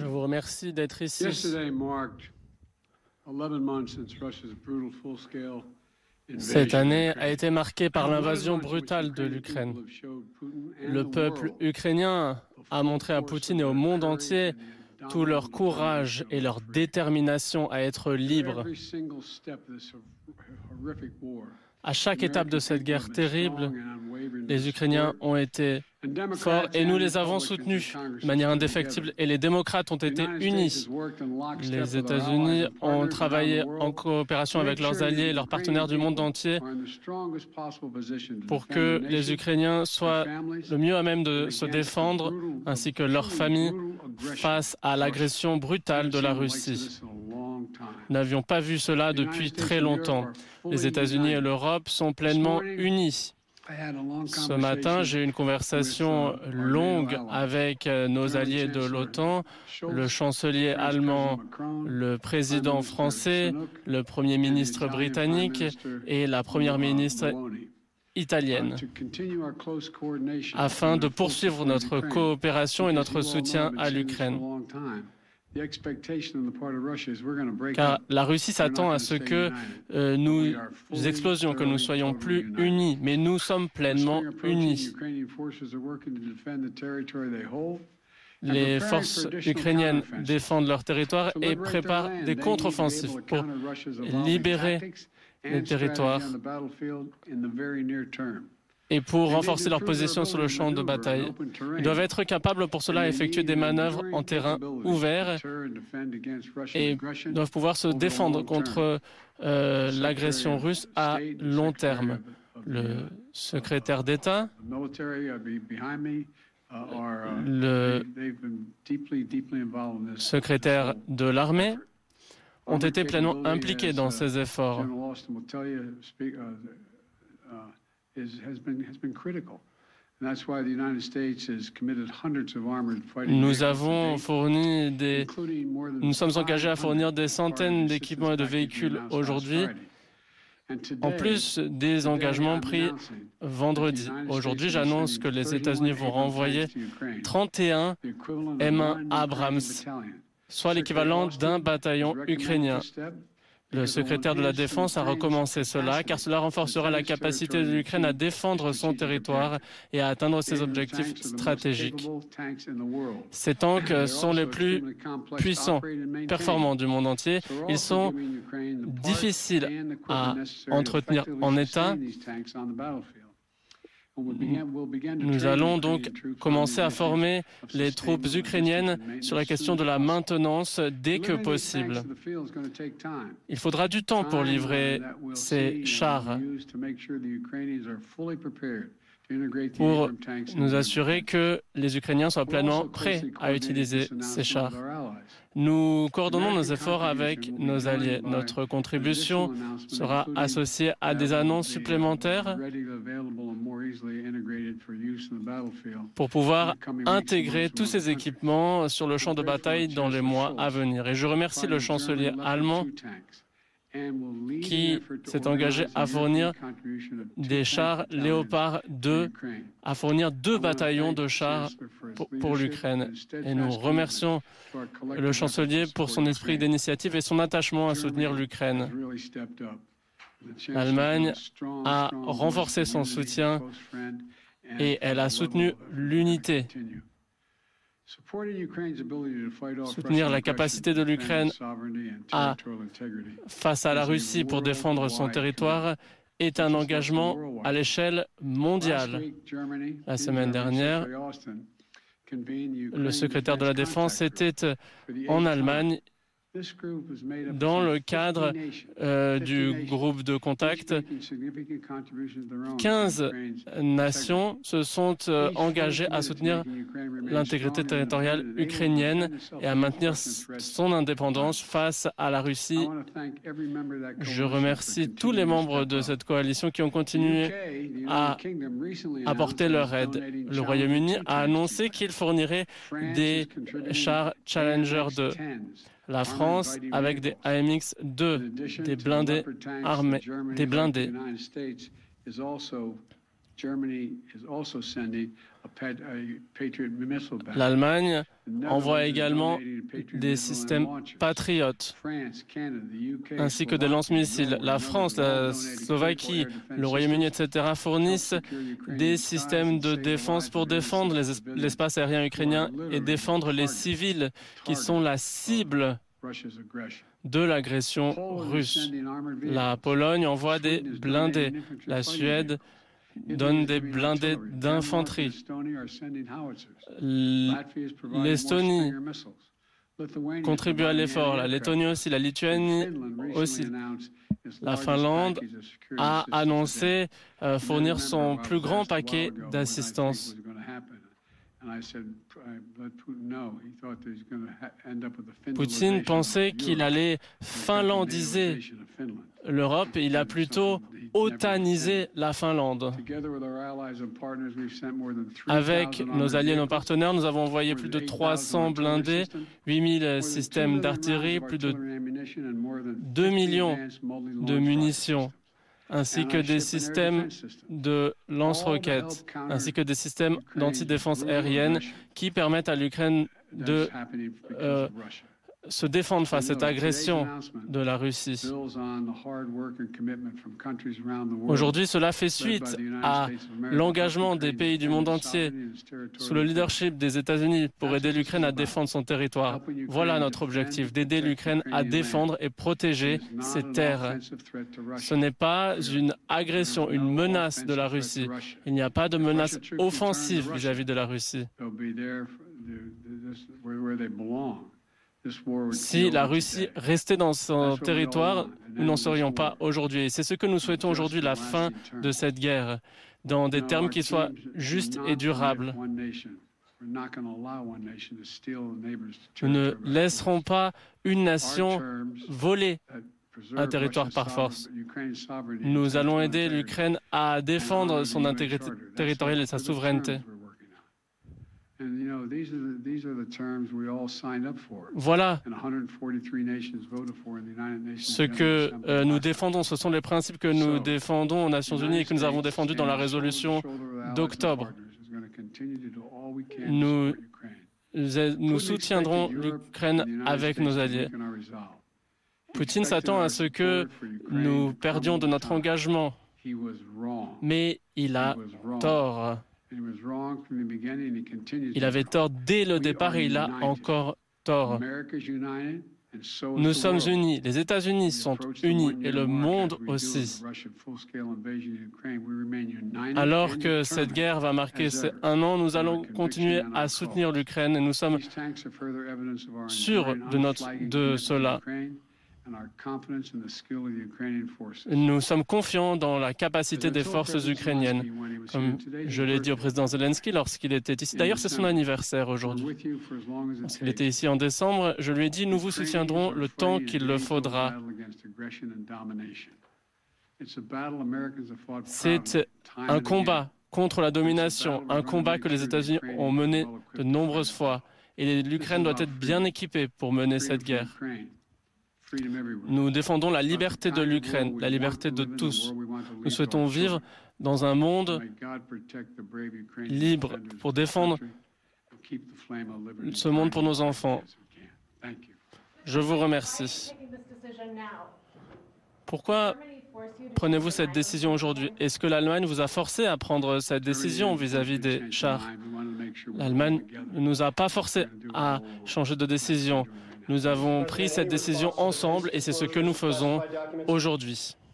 Je vous remercie d'être ici. Cette année a été marquée par l'invasion brutale de l'Ukraine. Le peuple ukrainien a montré à Poutine et au monde entier tout leur courage et leur détermination à être libres. À chaque étape de cette guerre terrible, les Ukrainiens ont été forts et nous les avons soutenus de manière indéfectible et les démocrates ont été unis. Les États-Unis ont travaillé en coopération avec leurs alliés et leurs partenaires du monde entier pour que les Ukrainiens soient le mieux à même de se défendre ainsi que leurs familles face à l'agression brutale de la Russie. Nous n'avions pas vu cela depuis très longtemps. Les États-Unis et l'Europe sont pleinement unis. Ce matin, j'ai eu une conversation longue avec nos alliés de l'OTAN, le chancelier allemand, le président français, le premier ministre britannique et la première ministre italienne, afin de poursuivre notre coopération et notre soutien à l'Ukraine. Car la Russie s'attend à ce que nous explosions, que nous soyons plus unis, mais nous sommes pleinement unis. Les forces ukrainiennes défendent leur territoire et préparent des contre-offensives pour libérer les territoires et pour renforcer leur position sur le champ de bataille. Ils doivent être capables pour cela d'effectuer des manœuvres en terrain ouvert et doivent pouvoir se défendre contre l'agression russe à long terme. Le secrétaire d'État, le secrétaire de l'armée ont été pleinement impliqués dans ces efforts. Nous sommes engagés à fournir des centaines d'équipements et de véhicules aujourd'hui, en plus des engagements pris vendredi. Aujourd'hui, j'annonce que les États-Unis vont renvoyer 31 M1 Abrams, soit l'équivalent d'un bataillon ukrainien. Le secrétaire de la Défense a recommencé cela, car cela renforcera la capacité de l'Ukraine à défendre son territoire et à atteindre ses objectifs stratégiques. Ces tanks sont les plus puissants, performants du monde entier. Ils sont difficiles à entretenir en état. Nous allons donc commencer à former les troupes ukrainiennes sur la question de la maintenance dès que possible. Il faudra du temps pour livrer ces chars, pour nous assurer que les Ukrainiens soient pleinement prêts à utiliser ces chars. Nous coordonnons nos efforts avec nos alliés. Notre contribution sera associée à des annonces supplémentaires pour pouvoir intégrer tous ces équipements sur le champ de bataille dans les mois à venir. Et je remercie le chancelier allemand qui s'est engagé à fournir des chars Léopard 2, à fournir 2 bataillons de chars pour l'Ukraine. Et nous remercions le chancelier pour son esprit d'initiative et son attachement à soutenir l'Ukraine. L'Allemagne a renforcé son soutien et elle a soutenu l'unité. Soutenir la capacité de l'Ukraine face à la Russie pour défendre son territoire est un engagement à l'échelle mondiale. La semaine dernière, le secrétaire de la Défense était en Allemagne dans le cadre du groupe de contact. 15 nations se sont engagées à soutenir l'intégrité territoriale ukrainienne et à maintenir son indépendance face à la Russie. Je remercie tous les membres de cette coalition qui ont continué à apporter leur aide. Le Royaume-Uni a annoncé qu'il fournirait des chars Challenger 2. La France avec des AMX-2, des blindés armés, des blindés. L'Allemagne envoie également des systèmes patriotes, ainsi que des lance-missiles. La France, la Slovaquie, le Royaume-Uni, etc. fournissent des systèmes de défense pour défendre l'espace aérien ukrainien et défendre les civils qui sont la cible de l'agression russe. La Pologne envoie des blindés. La Suède donne des blindés d'infanterie. L'Estonie contribue à l'effort, la Lettonie aussi, la Lituanie aussi. La Finlande a annoncé fournir son plus grand paquet d'assistance. Poutine pensait qu'il allait finlandiser l'Europe et il a plutôt otanisé la Finlande. Avec nos alliés et nos partenaires, nous avons envoyé plus de 300 blindés, 8000 systèmes d'artillerie, plus de 2 millions de munitions, ainsi que des systèmes de lance-roquettes, ainsi que des systèmes d'antidéfense aérienne qui permettent à l'Ukraine de se défendre face à cette agression de la Russie. Aujourd'hui, cela fait suite à l'engagement des pays du monde entier sous le leadership des États-Unis pour aider l'Ukraine à défendre son territoire. Voilà notre objectif, d'aider l'Ukraine à défendre et protéger ses terres. Ce n'est pas une agression, une menace de la Russie. Il n'y a pas de menace offensive vis-à-vis de la Russie. Si la Russie restait dans son territoire, nous n'en serions pas aujourd'hui. Et c'est ce que nous souhaitons aujourd'hui, la fin de cette guerre, dans des termes qui soient justes et durables. Nous ne laisserons pas une nation voler un territoire par force. Nous allons aider l'Ukraine à défendre son intégrité territoriale et sa souveraineté. Voilà ce que nous défendons. Ce sont les principes que nous défendons aux Nations Unies et que nous avons défendus dans la résolution d'octobre. Nous soutiendrons l'Ukraine avec nos alliés. Poutine s'attend à ce que nous perdions de notre engagement, mais il a tort. Il avait tort dès le départ et il a encore tort. Nous sommes unis, les États-Unis sont unis et le monde aussi. Alors que cette guerre va marquer un an, nous allons continuer à soutenir l'Ukraine et nous sommes sûrs de cela. Nous sommes confiants dans la capacité des forces ukrainiennes. Comme je l'ai dit au président Zelensky lorsqu'il était ici. D'ailleurs, c'est son anniversaire aujourd'hui. Lorsqu'il était ici en décembre, je lui ai dit « Nous vous soutiendrons le temps qu'il le faudra ». C'est un combat contre la domination, un combat que les États-Unis ont mené de nombreuses fois. Et l'Ukraine doit être bien équipée pour mener cette guerre. Nous défendons la liberté de l'Ukraine, la liberté de tous. Nous souhaitons vivre dans un monde libre pour défendre ce monde pour nos enfants. Je vous remercie. Pourquoi prenez-vous cette décision aujourd'hui? Est-ce que l'Allemagne vous a forcé à prendre cette décision vis-à-vis des chars? L'Allemagne ne nous a pas forcé à changer de décision. Nous avons pris cette décision ensemble et c'est ce que nous faisons aujourd'hui.